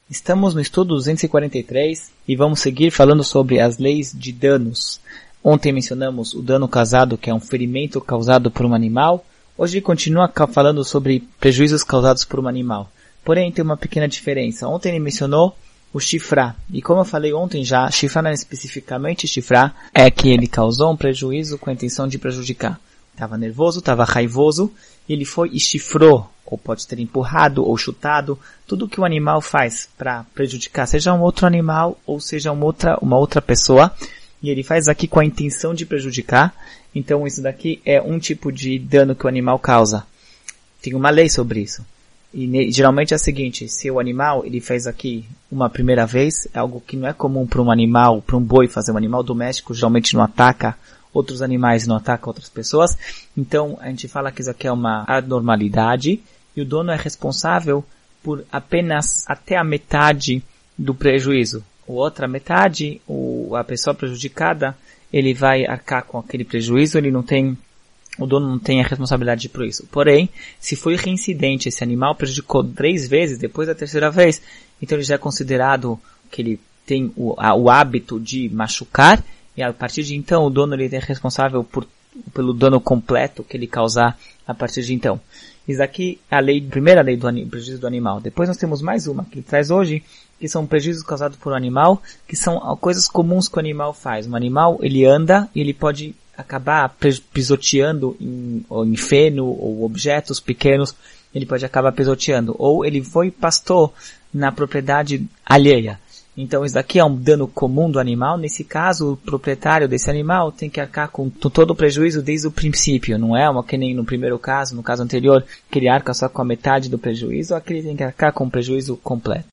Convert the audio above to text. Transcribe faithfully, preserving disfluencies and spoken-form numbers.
Estamos no estudo duzentos e quarenta e três e vamos seguir falando sobre as leis de danos. Ontem mencionamos o dano causado, que é um ferimento causado por um animal. Hoje continua falando sobre prejuízos causados por um animal. Porém, tem uma pequena diferença. Ontem ele mencionou o chifrar. E como eu falei ontem já, chifrar não é especificamente chifrar, é que ele causou um prejuízo com a intenção de prejudicar. Estava nervoso, estava raivoso, e ele foi e chifrou, ou pode ter empurrado ou chutado, tudo que o animal faz para prejudicar, seja um outro animal ou seja uma outra, uma outra pessoa, e ele faz aqui com a intenção de prejudicar. Então isso daqui é um tipo de dano que o animal causa. Tem uma lei sobre isso. E geralmente é o seguinte, se o animal ele fez aqui uma primeira vez, é algo que não é comum para um animal, para um boi fazer. Um animal doméstico geralmente não ataca outros animais, não ataca outras pessoas. Então a gente fala que isso aqui é uma anormalidade e o dono é responsável por apenas até a metade do prejuízo. A outra metade, o, a pessoa prejudicada, ele vai arcar com aquele prejuízo, ele não tem... O dono não tem a responsabilidade por isso. Porém, se foi reincidente, esse animal prejudicou três vezes, depois da terceira vez, então ele já é considerado que ele tem o, a, o hábito de machucar, e a partir de então o dono ele é responsável por, pelo dano completo que ele causar a partir de então. Isso aqui é a lei, a primeira lei do prejuízo do animal. Depois nós temos mais uma que ele traz hoje, que são prejuízos causados por um animal, que são coisas comuns que o animal faz. Um animal, ele anda e ele pode acabar pisoteando em, ou em feno ou objetos pequenos, ele pode acabar pisoteando. Ou ele foi e pastou na propriedade alheia. Então isso daqui é um dano comum do animal. Nesse caso, o proprietário desse animal tem que arcar com todo o prejuízo desde o princípio. Não é uma que nem no primeiro caso, no caso anterior, que ele arca só com a metade do prejuízo, aqui ele tem que arcar com o prejuízo completo.